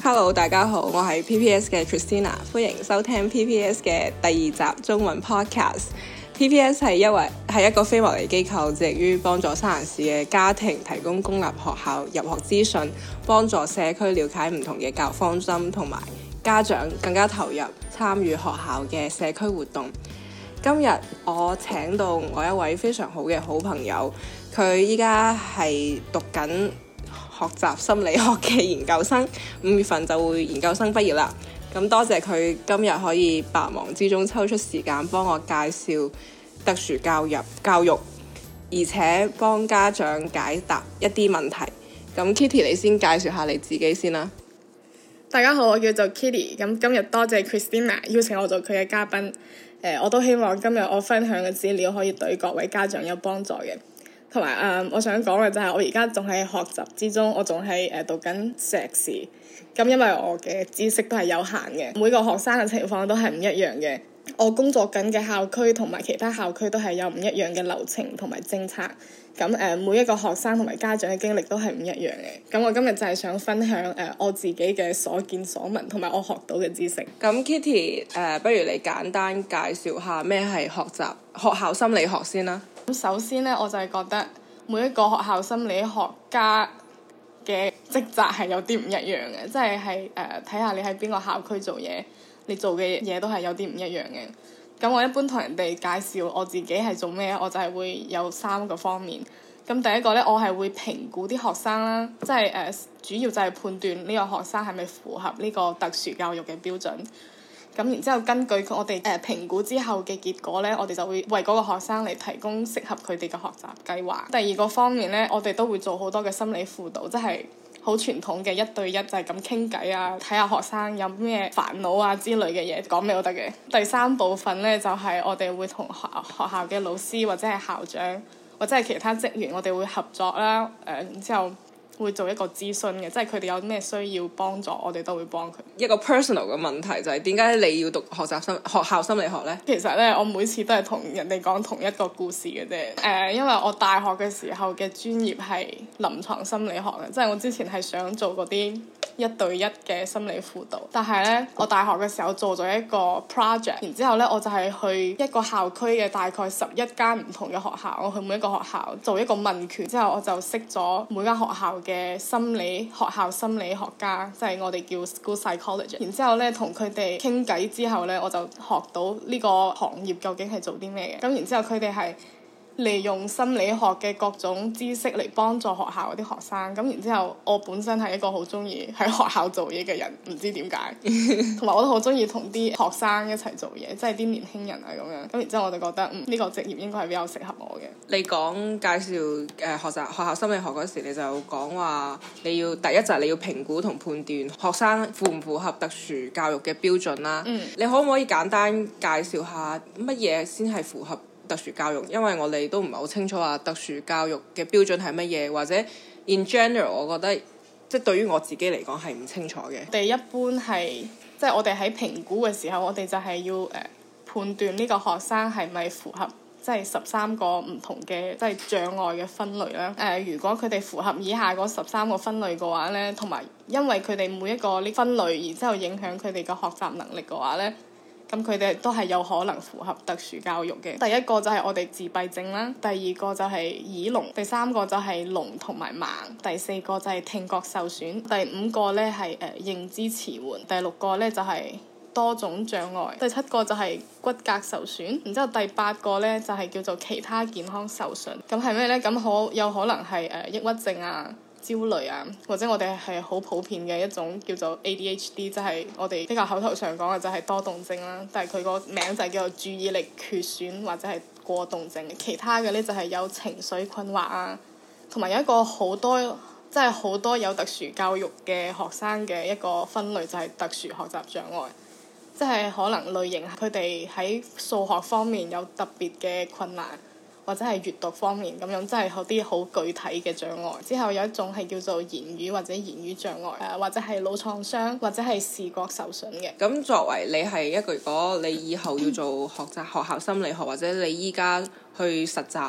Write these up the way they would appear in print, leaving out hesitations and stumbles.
Hello， 大家好，我係 PPS 嘅 Tristina， 歡迎收聽 PPS 嘅第二集中文 podcast。PPS 係一個非牟利機構，致力於幫助三藩市嘅家庭提供公立學校入學資訊，幫助社區了解唔同嘅教育方針，同埋家長更加投入參與學校嘅社區活動。今日我請到我一位非常好嘅好朋友，佢依家係讀緊學習心理學嘅研究生，5月份就會研究生畢業啦。咁多謝佢今日可以百忙之中抽出時間幫我介紹特殊教育，而且幫家長解答一啲問題。咁 Kitty， 你先介紹下你自己先啦。 大家好，我叫做 Kitty。咁今日多謝 Christina 邀請我做佢嘅嘉賓。我都希望今日我分享嘅資料可以對各位家長有幫助嘅。同埋我想講嘅就係我而家仲喺學習之中，我仲係讀緊碩士。咁因為我嘅知識都係有限嘅，每個學生嘅情況都係唔一樣嘅。我工作緊嘅校區同埋其他校區都係有唔一樣嘅流程同埋政策。咁每一個學生同埋家長嘅經歷都係唔一樣嘅。咁我今日就係想分享我自己嘅所見所聞同埋我學到嘅知識。 咁 Kitty， 不如你簡單介紹下咩係學校心理學先啦。 咁首先呢，我就係覺得每一個學校心理學家嘅職責係有啲唔一樣嘅，即係睇下你喺邊個校區做嘢，你做嘅嘢都係有啲唔一樣嘅。咁我一般同人哋介紹我自己係做咩，我就係會有3個方面。咁第一個呢，我係會評估啲學生啦，即係主要就係判斷呢個學生係咪符合呢個特殊教育嘅標準。咁然之後根據我哋評估之後嘅結果呢，我哋就會為嗰個學生嚟提供適合佢哋嘅學習計劃。第二個方面呢，我哋都會做好多嘅心理輔導，即係好傳統嘅1對1，就係咁傾偈啊，睇下學生有咩煩惱啊之類嘅嘢講咩都得嘅。第3部分呢，就係我哋會同學校嘅老師或者係校長或者係其他職員，我哋會合作啦。然之後會做一個諮詢嘅，即係佢哋有咩需要幫助，我哋都會幫佢。 一個 personal 嘅問題就係點解你要讀學校心理學呢？ 其實呢，我每次都係同人哋講同一個故事嘅啫。因為我大學嘅時候嘅專業係臨床心理學嘅，即係我之前係想做嗰啲1對1嘅心理輔導，但係呢，我大學嘅時候做咗一個 project， 然之後呢，我就係去一個校區嘅大概11間唔同嘅學校，我去每一個學校做一個問卷，之後我就識咗每間學校嘅學校心理學家，即係我哋叫 school psychologist。然之後呢，同佢哋傾偈之後呢，我就學到呢個行業究竟係做啲咩嘅。咁然之後佢哋係利用心理學嘅各種知識嚟幫助學校嗰啲學生。咁然之後我本身係一個好中意喺學校做嘢嘅人，唔知點解，同埋我都好中意同啲學生一齊做嘢，即係啲年輕人啊咁樣。咁然之後我就覺得呢個職業應該係比較適合我嘅。 你講介紹學校心理學嗰時，你就講話你要第一就係你要評估同判斷學生符唔符合特殊教育嘅標準啦。你可唔可以簡單介紹下乜嘢先係符合特殊教育？因為我哋都唔係好清楚話特殊教育嘅標準係乜嘢，或者 in general 我覺得即係對於我自己嚟講係唔清楚嘅。 我哋一般係即係我哋喺評估嘅時候，我哋就係要判斷呢個學生係咪符合即係13個唔同嘅即係障礙嘅分類啦。如果佢哋符合以下嗰13個分類嘅話呢，同埋因為佢哋每一個呢分類然之後影響佢哋嘅學習能力嘅話呢，咁佢哋都係有可能符合特殊教育嘅。第一個就係我哋自閉症啦，第二個就係耳聾，第3個就係聾同埋盲，第4個就係聽覺受損，第5個呢係認知遲緩，第6個呢就係多種障礙，第7個就係骨骼受損，然之後第8個呢就係叫做其他健康受損。咁係咩呢？咁有可能係抑鬱症啊、焦慮啊，或者我哋係好普遍嘅一種叫做 ADHD， 即係我哋比較口頭上講嘅就係多動症啦，但係佢個名就係叫做注意力缺損或者係過動症。其他嘅呢就係有情緒困惑啊，同埋有一個好多有特殊教育嘅學生嘅一個分類就係特殊學習障礙，即係可能類型佢哋喺數學方面有特別嘅困難，或者係閱讀方面咁樣，即係有啲好具體嘅障礙。之後有一種係叫做言語或者言語障礙，或者係腦創傷，或者係視覺受損嘅。 咁作為你係一個，如果你以後要做學校心理學，或者你依家去實習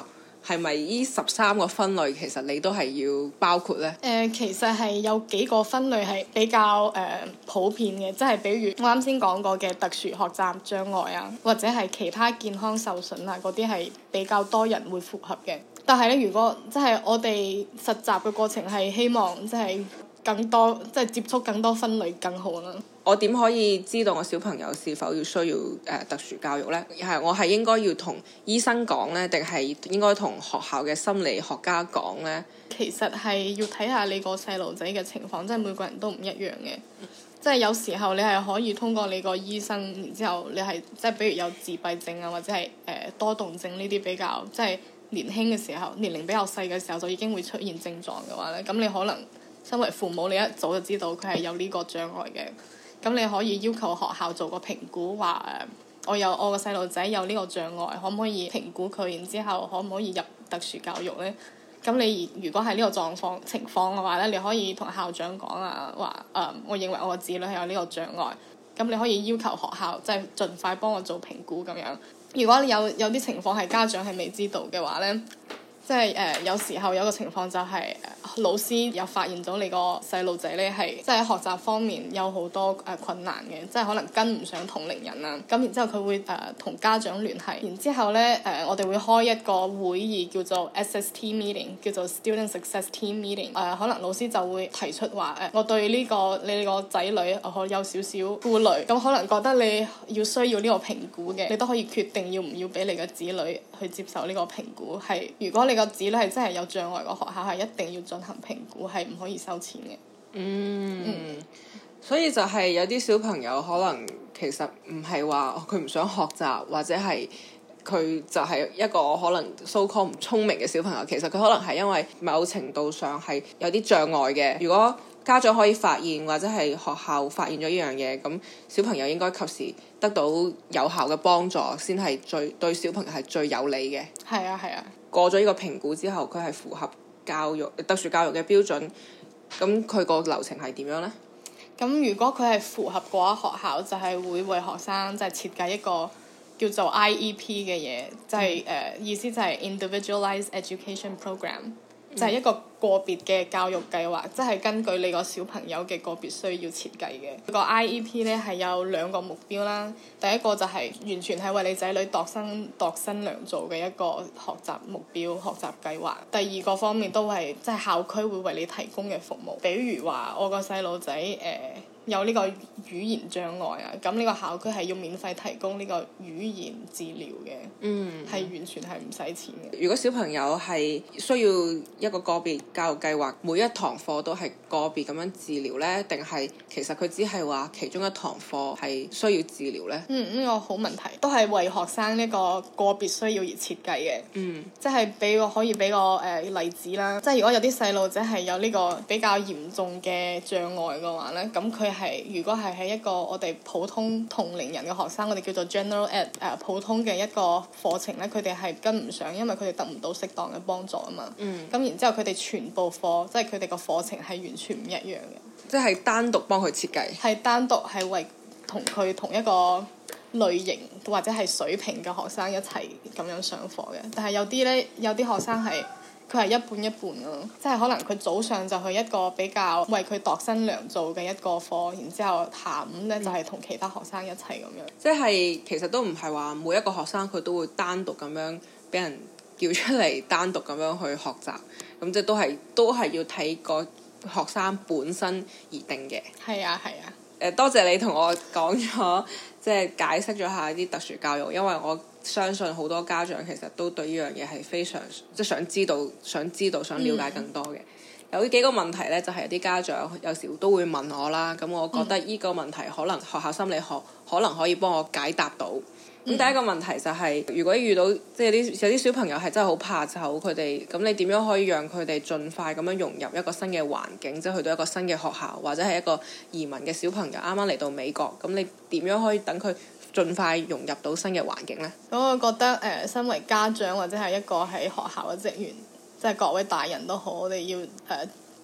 係咪呢13個分類其實你都係要包括呢？ 其實係有幾個分類係比較普遍嘅，即係比如我啱先講過嘅特殊學習障礙啊，或者係其他健康受損啊，嗰啲係比較多人會符合嘅。但係咧，如果即係我哋實習嘅過程係希望即係更多，即係接觸更多分類更好啦。 我點可以知道我小朋友是否要需要特殊教育呢？我係應該要同醫生講呢，定係應該同學校嘅心理學家講呢？ 其實係要睇下你個細路仔嘅情況，即係每個人都唔一樣嘅。即係有時候你係可以通過你個醫生，然之後你係即係比如有自閉症啊，或者係多動症呢啲比較即係年輕嘅時候，年齡比較細嘅時候就已經會出現症狀嘅話咧，咁你可能身為父母，你一早就知道佢係有呢個障礙嘅。咁你可以要求學校做個評估，話我個細路仔有呢個障礙，可唔可以評估佢？然之後可唔可以入特殊教育呢？咁你如果係呢個情況嘅話呢，你可以同校長講啊，話我認為我個子女係有呢個障礙，咁你可以要求學校即係盡快幫我做評估咁樣。如果有啲情況係家長係未知道嘅話呢，即係有時候有個情況就係老師又發現咗你個細路仔咧係即係喺學習方面有好多困難嘅，即係可能跟唔上同齡人啊。咁然之後佢會同家長聯繫，然之後咧我哋會開一個會議叫做 SST meeting， 叫做 Student Success Team Meeting。可能老師就會提出話我對你個仔女有少少顧慮，咁可能覺得你需要呢個評估嘅，你都可以決定要唔要俾你嘅子女去接受呢個評估。係如果你個子女係真係有障礙，個學校係一定要進行評估，係唔可以收錢嘅。 所以就係有啲小朋友可能其實唔係話佢唔想學習，或者係佢就係一個可能 so called 唔聰明嘅小朋友，其實佢可能係因為某程度上係有啲障礙嘅。如果家長可以發現，或者係學校發現咗呢樣嘢，咁小朋友應該及時得到有效嘅幫助，先係對小朋友係最有利嘅。 係啊係啊。 過咗呢個評估之後，佢係符合特殊教育嘅標準，咁佢個流程係點樣呢？ 咁如果佢係符合嘅話，學校就係會為學生即係設計一個叫做 IEP 嘅嘢，就係意思就係 Individualized Education Program。就係一個個別嘅教育計劃，即係根據你個小朋友嘅個別需要設計嘅。個 IEP 咧係有2個目標啦。第一個就係完全係為你仔女度身良造嘅一個學習目標、學習計劃。第二個方面都係即係校區會為你提供嘅服務，比如話我個細路仔有呢個語言障礙啊，咁呢個校區係要免費提供呢個語言治療嘅，係完全係唔使錢嘅。 如果小朋友係需要一個個別教育計劃，每一堂課都係個別咁樣治療呢？定係其實佢只係話其中一堂課係需要治療呢？ 呢個好問題，都係為學生呢個個別需要而設計嘅。即係可以俾個例子啦，即係如果有啲細路仔係有呢個比較嚴重嘅障礙嘅話呢，咁佢如果係喺一個我哋普通同齡人嘅學生，我哋叫做 General Ed 普通嘅一個課程咧，佢哋係跟唔上，因為佢哋得唔到適當嘅幫助啊嘛。咁然之後佢哋全部課，即係佢哋個課程係完全唔一樣嘅。即係單獨幫佢設計。 係單獨係為同一個類型或者係水平嘅學生一齊咁樣上課嘅。但係有啲學生係。佢係一半一半咯，即係可能佢早上就去一個比較為佢度身良造嘅一個課，然之後下午咧就係同其他學生一齊咁樣。 即係其實都唔係話每一個學生佢都會單獨咁樣俾人叫出嚟，單獨咁樣去學習，咁即係都係要睇個學生本身而定嘅。係啊。多謝你同我講咗，即係解釋咗下啲特殊教育，因為我相信好多家長其實都對呢樣嘢係非常即係想知道、想了解更多嘅。有幾個問題呢，就係有啲家長有時都會問我啦。咁我覺得呢個問題可能學校心理學可能可以幫我解答到。咁第一個問題就係，如果遇到即係有啲小朋友係真係好怕醜，佢哋咁你點樣可以讓佢哋盡快咁樣融入一個新嘅環境，即係去到一個新嘅學校，或者係一個移民嘅小朋友啱啱嚟到美國，咁你點樣可以等佢盡快融入到新嘅環境呢？ 咁我覺得身為家長或者係一個喺學校嘅職員，即係各位大人都好，我哋要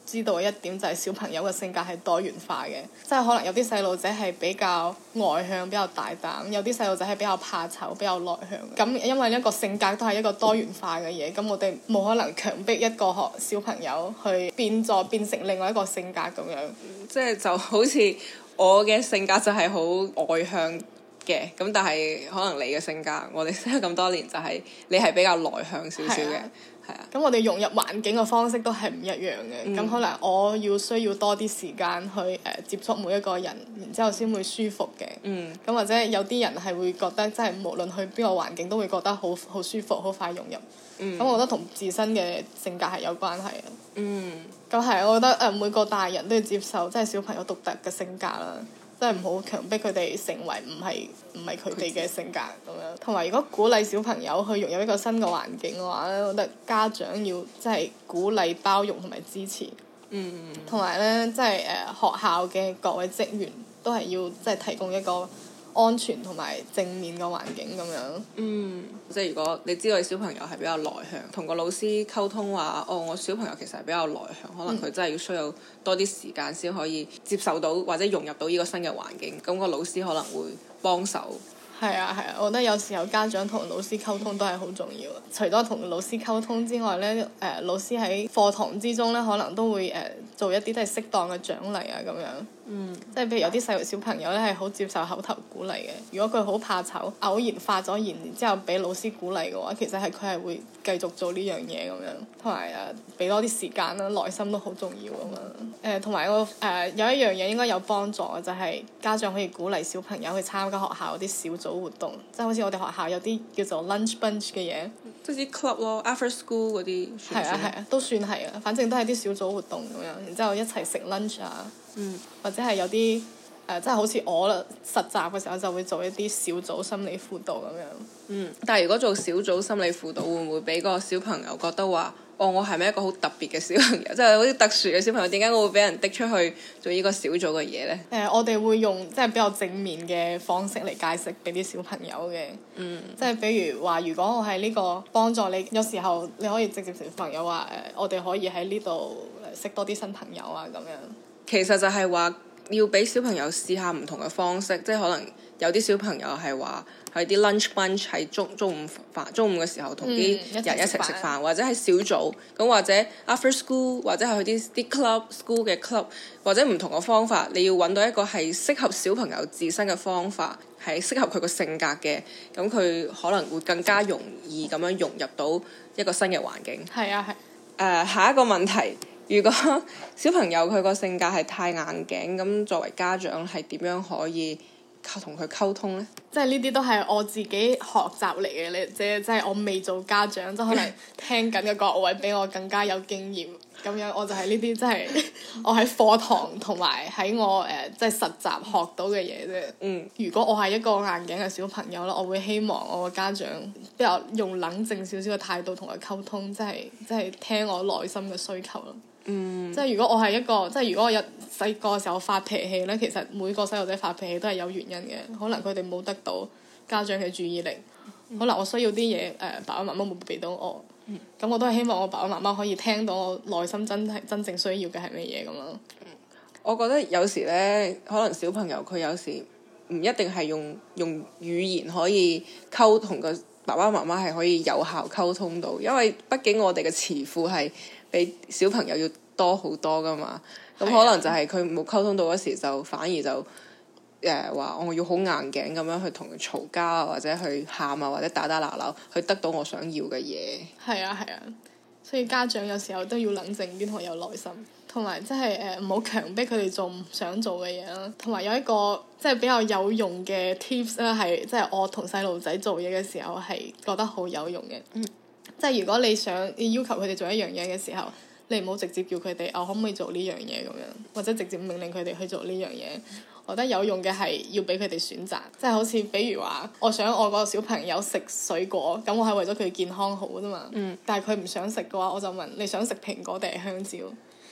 知道嘅一點就係小朋友嘅性格係多元化嘅，即係可能有啲細路仔係比較外向、比較大膽，有啲細路仔係比較怕醜、比較內向。咁因為一個性格都係一個多元化嘅嘢，咁我哋冇可能強迫一個小朋友去變成另外一個性格咁樣。 即係就好似我嘅性格就係好外向嘅，咁但係可能你嘅性格，我哋識咗咁多年就係你係比較內向少少嘅。係啊， 咁我哋融入環境嘅方式都係唔一樣嘅。咁可能我需要多啲時間去接觸每一個人，然之後先會舒服嘅。咁或者有啲人係會覺得，即係無論去邊個環境都會覺得好舒服，好快融入。咁我覺得同自身嘅性格係有關係嘅。咁係，我覺得每個大人都要接受即係小朋友獨特嘅性格啦。即係唔好強迫佢哋成為唔係佢哋嘅性格咁樣。同埋如果鼓勵小朋友去融入一個新嘅環境嘅話咧，我覺得家長要即係鼓勵、包容同埋支持。同埋咧，即係學校嘅各位職員都係要即係提供一個安全同埋正面嘅環境咁樣。 即係如果你知道你小朋友係比較內向，同個老師溝通話，我小朋友其實係比較內向，可能佢真係要需要多啲時間先可以接受到或者融入到呢個新嘅環境，咁個老師可能會幫手。 係啊，我覺得有時候家長同老師溝通都係好重要。除咗同老師溝通之外咧，老師喺課堂之中咧，可能都會做一啲都係適當嘅獎勵啊咁樣。即係譬如有啲小朋友咧係好接受口頭鼓勵嘅。如果佢好怕醜，偶然發咗言，然之後俾老師鼓勵嘅話，其實佢係會繼續做呢樣嘢咁樣。同埋俾多啲時間啦，耐心都好重要啊嘛。同埋有一樣嘢應該有幫助嘅，就係家長可以鼓勵小朋友去參加學校嗰啲小組活動，即係好似我哋學校有啲叫做 lunch bunch 嘅嘢， 即係啲 club 咯 ，after school 嗰啲。係啊，都算係啊，反正都係啲小組活動咁樣，然之後一齊食 lunch 啊，或者係有啲即係好似我啦，實習嘅時候就會做一啲小組心理輔導咁樣。 但係如果做小組心理輔導，會唔會俾個小朋友覺得話，我係咪一個好特別嘅小朋友？即係好似特殊嘅小朋友，點解我會俾人滴出去做呢個小組嘅嘢呢？ 我哋會用即係比較正面嘅方式嚟解釋俾啲小朋友嘅。即係比如話，如果我係呢個幫助你，有時候你可以直接同小朋友話我哋可以喺呢度識多啲新朋友啊咁樣。 其實就係話要俾小朋友試下唔同嘅方式，即係可能有啲小朋友係話喺啲 lunch bunch 喺中午嘅時候同啲人一齊食飯，或者係小組咁，或者 after school，或者係去啲 club school 嘅 club，或者唔同嘅方法，你要揾到一個係適合小朋友自身嘅方法，係適合佢個性格嘅，咁佢可能會更加容易咁樣融入到一個新嘅環境。 係啊， 下一個問題。如果小朋友佢個性格係太硬頸，咁作為家長係點樣可以同佢溝通呢？ 即係呢啲都係我自己學習嚟嘅，即係我未做家長，即係可能聽緊嘅各位比我更加有經驗。咁樣我就係呢啲，即係我喺課堂同埋喺我即係實習學到嘅嘢啫。如果我係一個硬頸嘅小朋友啦，我會希望我個家長比較用冷靜少少嘅態度同佢溝通，即係聽我內心嘅需求咯。即係如果我係一個，即係如果我有細個嘅時候發脾氣咧，其實每個細路仔發脾氣都係有原因嘅，可能佢哋冇得到家長嘅注意力，可能我需要啲嘢爸爸媽媽冇俾到我，咁我都係希望我爸爸媽媽可以聽到我內心真正需要嘅係乜嘢咁咯。 我覺得有時咧，可能小朋友佢有時唔一定係用語言可以溝通，個爸爸媽媽係可以有效溝通到，因為畢竟我哋嘅詞庫係比小朋友要多好多噶嘛，咁可能就係佢冇溝通到嗰時，就反而就話我要好硬頸咁樣去同佢嘈交啊，或者去喊啊，或者打鬧去得到我想要嘅嘢。係啊，所以家長有時候都要冷靜啲同有耐心，同埋即係唔好強迫佢哋做唔想做嘅嘢啦。同埋有一個即係比較有用嘅 tips 咧，係即係我同細路仔做嘢嘅時候係覺得好有用嘅。即係如果你想要求佢哋做一樣嘢嘅時候，你唔好直接叫佢哋可唔可以做呢樣嘢咁樣，或者直接命令佢哋去做呢樣嘢。我覺得有用嘅係要俾佢哋選擇，即係好似比如話，我想我個小朋友食水果，咁我係為咗佢健康好啫嘛。但係佢唔想食嘅話，我就問你想食蘋果定係香蕉？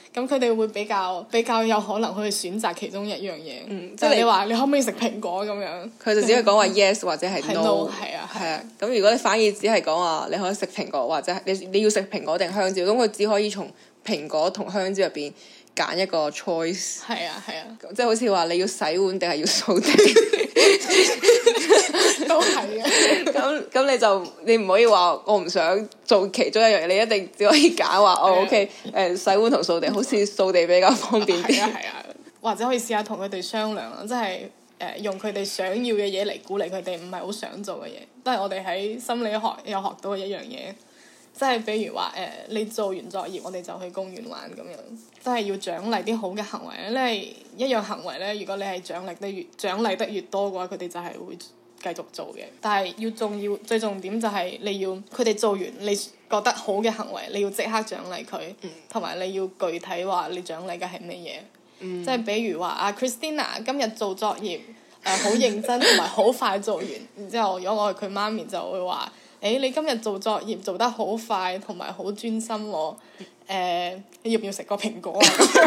咁佢哋會比較有可能去選擇其中一樣嘢。 即係你話你可唔可以食蘋果咁樣？ 佢就只係講話 yes 或者係 no。 係啊。 係啊，咁如果你反而只係講話你可以食蘋果或者係你要食蘋果定香蕉，咁佢只可以從蘋果同香蕉入邊揀一個 choice。 係啊。 即係好似話你要洗碗定係要掃地。 都係嘅。 咁你唔可以話我唔想做其中一樣嘢，你一定只可以揀話OK 洗碗同掃地，好似掃地比較方便啲。 係啊，或者可以試下同佢哋商量啦，即係用佢哋想要嘅嘢嚟鼓勵佢哋唔係好想做嘅嘢，都係我哋喺心理學有學到嘅一樣嘢。即係比如話你做完作業，我哋就去公園玩咁樣，即係要獎勵啲好嘅行為咧。因為一樣行為咧，如果你係獎勵得越多嘅話，佢哋就係會繼續做嘅。但係最重點就係你要佢哋做完你覺得好嘅行為，你要即刻獎勵佢，同埋你要具體話你獎勵嘅係乜嘢。即係比如話阿 Christina 今日做作業好認真同埋好快做完，然之後如果我係佢媽咪就會話。你今日做作業做得好快，同埋好專心喎。你要唔要食個蘋果啊？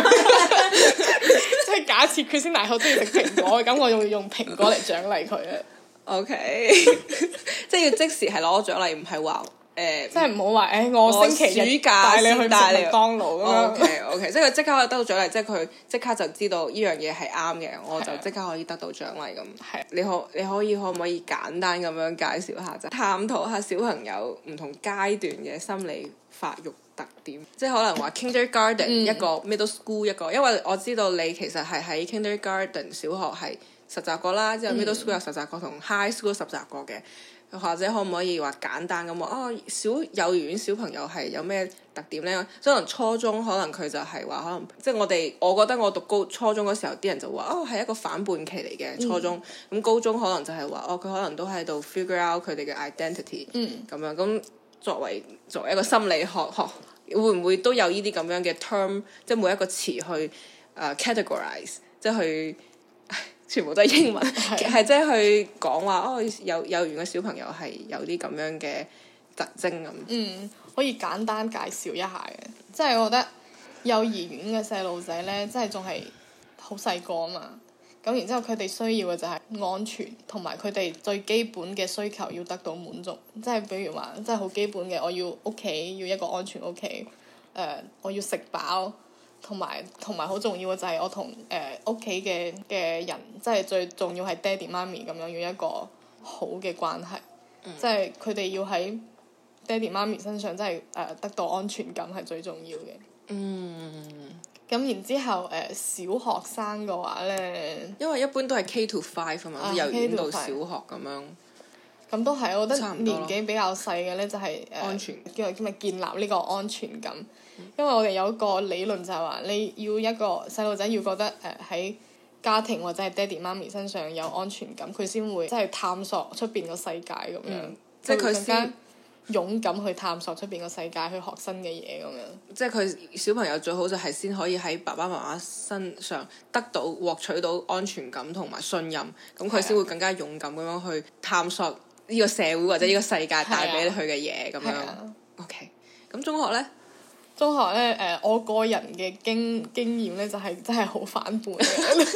即係假設佢先大好中意食蘋果，咁我就會用蘋果嚟獎勵佢啊。 OK，即係要即時係攞獎勵，唔係話即係唔好話我星期日帶你去食麥當勞咁樣。 OK，即係佢即刻可以得到獎勵，即係佢即刻就知道呢樣嘢係啱嘅，我就即刻可以得到獎勵咁。 係。 你可唔可以簡單咁樣介紹下，就探討下小朋友唔同階段嘅心理發育特點，即係可能話 kindergarten 一個 middle school 一個，因為我知道你其實係喺 kindergarten 小學係實習過啦，之後 middle school 有實習過，同 high school 實習過嘅。或者可唔可以話簡單咁話幼兒園小朋友係有咩特點呢？可能初中可能佢就係話可能即係我覺得我讀初中嗰時候啲人就話係一個反叛期嚟嘅初中，咁高中可能就係話佢可能都喺度 figure out 佢哋嘅 identity 咁樣。咁作為一個心理學會唔會都有呢啲咁樣嘅 term， 即係每一個詞去categorize， 即係去。全部都係英文，係即係去講話幼兒園嘅小朋友係有啲咁樣嘅特徵咁。 可以簡單介紹一下嘅，即係我覺得幼兒園嘅細路仔呢，即係仲係好細個啊嘛。咁然之後佢哋需要嘅就係安全，同埋佢哋最基本嘅需求要得到滿足。即係比如話，即係好基本嘅，我要屋企要一個安全屋企，我要食飽。同埋好重要嘅就係我同屋企嘅人，即係最重要係爹哋媽咪咁樣要一個好嘅關係，即係佢哋要喺爹哋媽咪身上真係得到安全感係最重要嘅。咁然之後小學生嘅話咧， 因為一般都係 K to 5啊嘛，即係幼兒園到小學咁樣。 咁都係，我覺得年紀比較細嘅咧就係安全， 叫建立呢個安全感。因為我哋有一個理論就係話，你要一個細路仔要覺得喺家庭或者係爹哋媽咪身上有安全感，佢先會即係探索出邊個世界咁樣，即係佢更加勇敢去探索出邊個世界，去學新嘅嘢咁樣。 即係佢小朋友最好就係先可以喺爸爸媽媽身上獲取到安全感同埋信任，咁佢先會更加勇敢咁樣去探索呢個社會或者呢個世界帶俾佢嘅嘢咁樣。OK， 咁中學呢？ 中學咧，我個人嘅經驗咧就係真係好反叛嘅。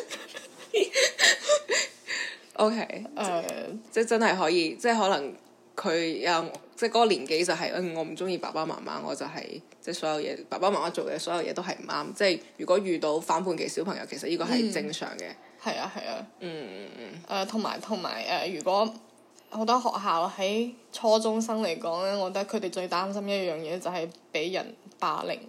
OK，即係真係可以，即係可能佢有即係嗰個年紀就係我唔中意爸爸媽媽，我就係即係所有嘢爸爸媽媽做嘅所有嘢都係唔啱。即係如果遇到反叛期小朋友，其實呢個係正常嘅。 係啊。同埋如果好多學校喺初中生嚟講咧，我覺得佢哋最擔心一樣嘢就係俾人霸凌。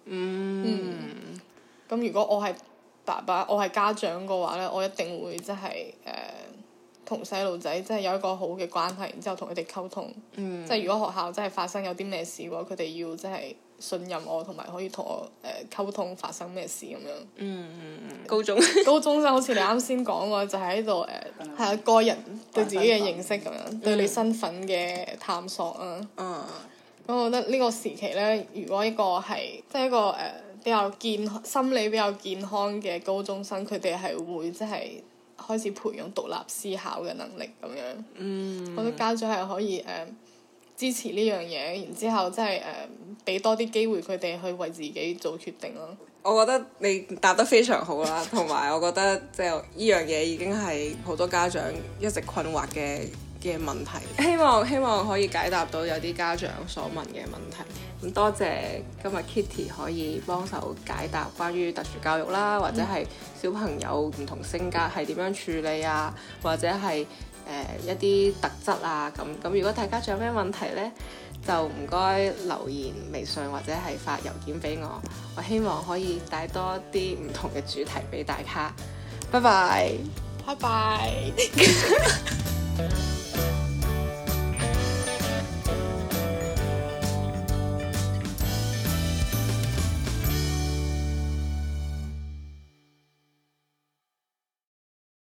咁如果我係爸爸，我係家長嘅話咧，我一定會即係同細路仔即係有一個好嘅關係，然之後同佢哋溝通。即係如果學校真係發生有啲咩事嘅話，佢哋要即係信任我，同埋可以同我溝通發生咩事咁樣。高中生好似你啱先講過，就係喺度係個人對自己嘅認識咁樣，對你身份嘅探索啊。咁我覺得呢個時期咧，如果一個係即係一個比較心理比較健康嘅高中生，佢哋係會即係開始培養獨立思考嘅能力咁樣。我覺得家長係可以支持呢樣嘢，然之後即係俾多啲機會佢哋去為自己做決定咯。 我覺得你答得非常好啦，同埋我覺得即係呢樣嘢已經係好多家長一直困惑嘅問題。希望可以解答到有啲家長所問嘅問題。咁多謝今日 Kitty 可以幫手解答關於特殊教育啦，或者係小朋友唔同性格係點樣處理啊，或者係一啲特質啊咁。如果大家仲有咩問題呢，就唔該留言微信或者係發郵件俾我，我希望可以帶多啲唔同嘅主題俾大家。拜拜， 拜拜。